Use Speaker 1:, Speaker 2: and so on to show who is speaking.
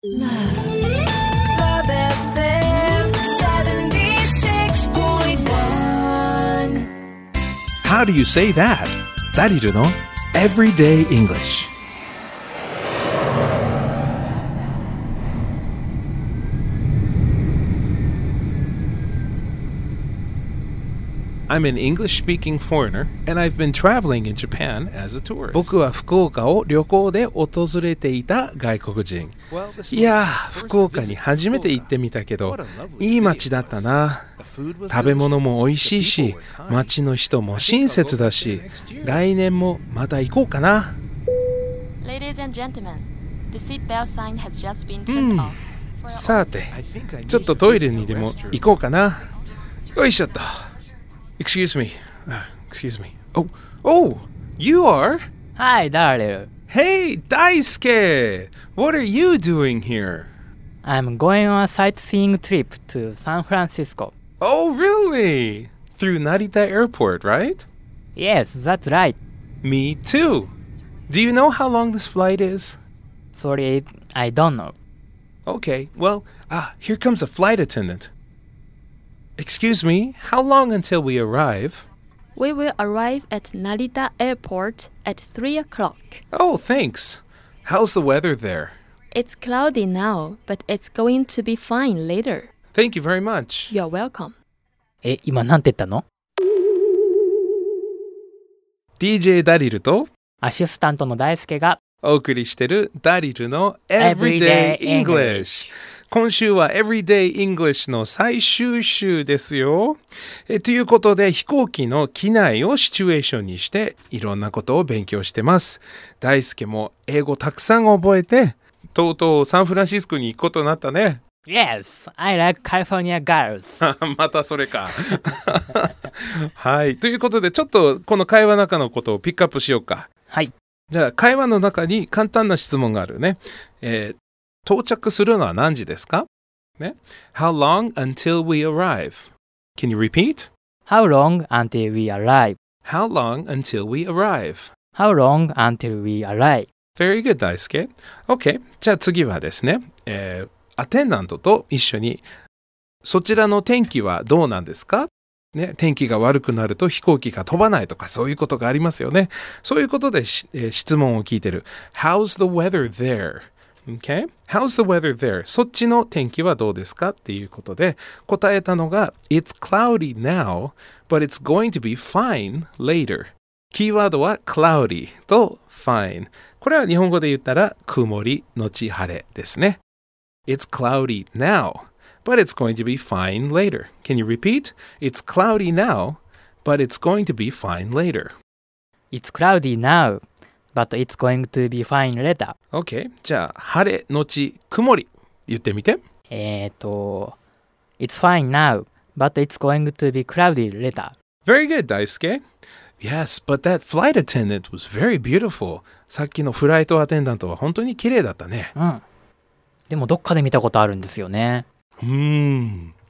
Speaker 1: Love FM 76.1.
Speaker 2: How do you say that? ダリルの Everyday English。I'm an English-speaking foreigner, and I've been traveling in Japan as a tourist. 僕は福岡を旅行で訪れていた外国人。いやー、福岡に初めて行ってみたけど、いい街だったな。食べ物も美味しいし、街の人も親切だし、来年もまた行こうかな。
Speaker 3: Ladies and gentlemen, the seatbelt sign has just been turned off.
Speaker 2: さて、ちょっとトイレにでも行こうかな。よいしょっと。Excuse me. Excuse me. Oh, you are?
Speaker 4: Hi, Daryl.
Speaker 2: Hey, Daisuke! What are you doing here?
Speaker 4: I'm going on a sightseeing trip to San Francisco.
Speaker 2: Oh, really? Through Narita Airport, right?
Speaker 4: Yes, that's right.
Speaker 2: Me too. Do you know how long this flight is?
Speaker 4: Sorry, I don't know.
Speaker 2: Okay, well, here comes a flight attendant. Excuse me, how long until we arrive?
Speaker 3: We will arrive at Narita Airport at 3 o'clock.
Speaker 2: Oh, thanks. How's the weather there?
Speaker 3: It's cloudy now, but it's going to be fine later.
Speaker 2: Thank you very much.
Speaker 3: You're welcome.
Speaker 4: 今なんて言ったの？
Speaker 2: DJ ダリルと
Speaker 4: アシスタントの大輔が
Speaker 2: お送りしてるダリルの Everyday English。今週は Everyday English の最終週ですよ。ということで飛行機の機内をシチュエーションにしていろんなことを勉強してます。大輔も英語たくさん覚えてとうとうサンフランシスコに行くことになったね。
Speaker 4: Yes, I like California girls.
Speaker 2: またそれか。はい。ということでちょっとこの会話の中のことをピックアップしようか。
Speaker 4: はい。
Speaker 2: じゃあ会話の中に簡単な質問があるね。到着するのは何時ですか？ね。How long until we arrive? Can you repeat?
Speaker 4: How long until we arrive?
Speaker 2: How long until we arrive?
Speaker 4: How long until we arrive?
Speaker 2: Very good, 大輔。OK。じゃあ次はですね、アテンダントと一緒にそちらの天気はどうなんですか？ね、天気が悪くなると飛行機が飛ばないとかそういうことがありますよね。そういうことで、質問を聞いてる。How's the weather there?Okay? How's the weather there? そっちの天気はどうですかっていうことで答えたのが It's cloudy now, but it's going to be fine later. キーワードは cloudy と fine。これは日本語で言ったら曇り後晴れですね。It's cloudy now, but it's going to be fine later. Can you repeat? It's cloudy now, but it's going to be fine later.
Speaker 4: It's cloudy now.But it's going to be fine later.
Speaker 2: OK. じゃあ、晴れのち曇り。言ってみて。
Speaker 4: It's fine now, but it's going to be cloudy later.
Speaker 2: Very good, 大輔。Yes, but that flight attendant was very beautiful. さっきのフライトアテンダントは本当に綺麗だったね。
Speaker 4: うん。でもどっかで見たことあるんですよね。